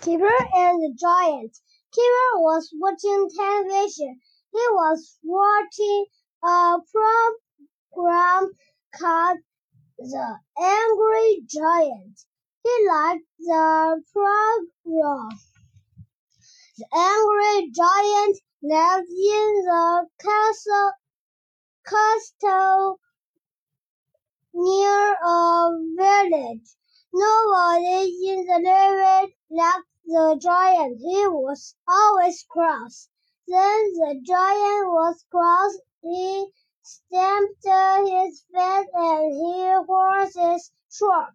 Keeper and the Giant. Keeper was watching television. He was watching a program called The Angry Giant. He liked the program. The angry giant lived in the castle near a village. Nobody in the village liked the giant. He was always cross. Then the giant was cross. He stamped his feet and his horses shook.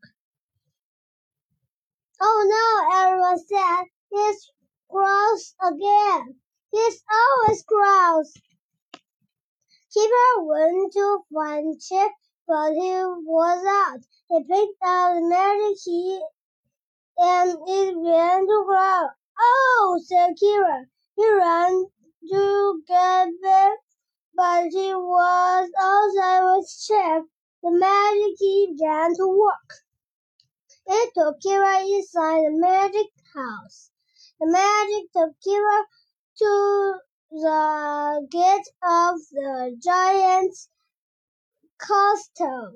Oh no, everyone said. He's cross again. He's always cross. Keeper went to find Chip, but he was out. He picked up the magic key and it began to grow. Oh, said Keeper. He ran to get back, but he was outside with Chip. The magic key began to work. It took Keeper inside the magic house. The magic took Keeper to the gate of the giant's castle.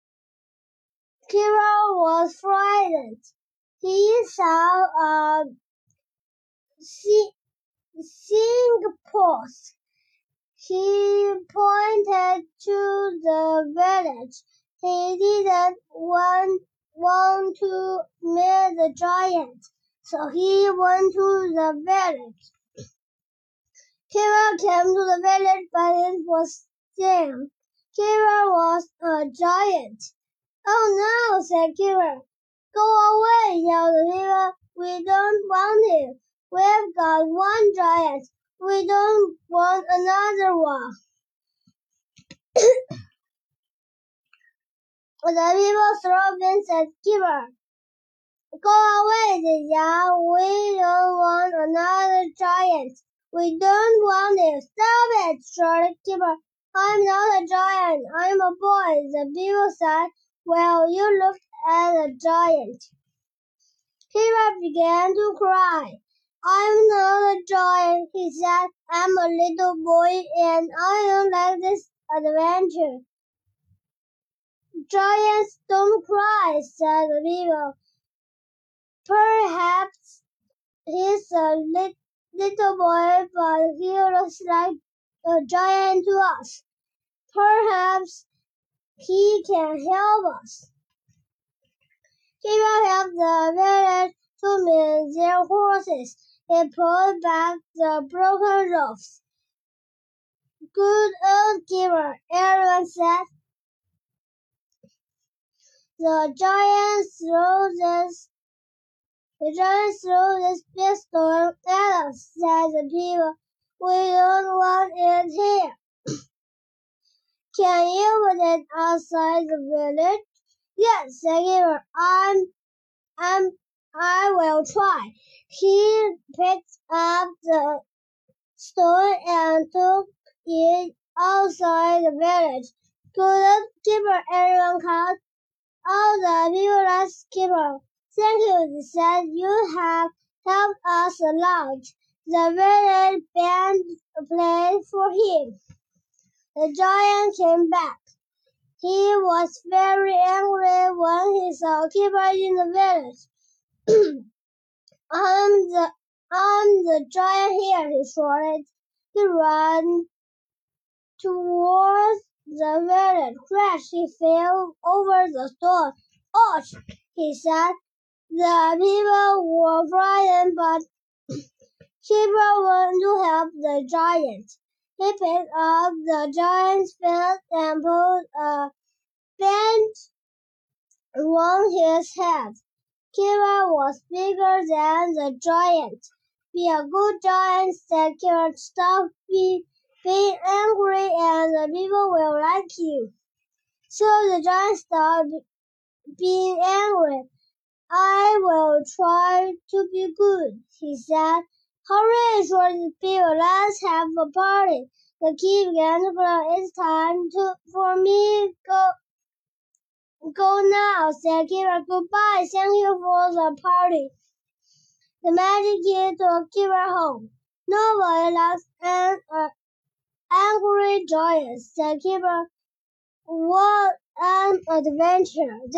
Keeper was frightened. He saw a signpost. He pointed to the village. He didn't want to meet the giant, so he went to the village. Keeper came to the village, but it was dim. Keeper was a giant. Oh no, said Keeper. Go away, yelled the people. We don't want him. We've got one giant. We don't want another one. The people threw at Keeper. Go away, they yelled. We don't want another giant. We don't want him. Stop it, shouted Keeper. I'm not a giant. I'm a boy. The people said, well, you looked at a giant. Keeper began to cry. I'm not a giant, he said. I'm a little boy and I don't like this adventure. Giants don't cry, said the people. Perhaps he's a little boy, but he looks like a giant to us. Perhaps he can help us. Keeper helped the village to mend their horses. He pulled back the broken roofs. Good old Keeper, everyone said. The giant threw this big stone at us, said the people. We don't want it here. Can you put it outside the village? Yes, said Keeper. I will try. He picked up the stone and took it outside the village. Good Keeper, everyone called. All the people asked Keeper. Thank you, they said. You have helped us a lot. The village band played for him. The giant came back. He was very angry when he saw Keeper in the village. I'm the giant here, he shouted. He ran towards the village. Crash, he fell over the stone. Ouch, he said. The people were frightened, but Keeper wanted to help the giant. He picked up the giant's feet and put a band around his head. Keeper was bigger than the giant. Be a good giant, said Keeper. Stop being angry and the people will like you. So the giant stopped being angry. I will try to be good, he said. Hurry, shouted the people. Let's have a party. The key began to blow. It's time for me go now, said Keeper. Goodbye. Thank you for the party. the magic key to keep her home. Nobody likes an angry giant. The keeper was an adventure.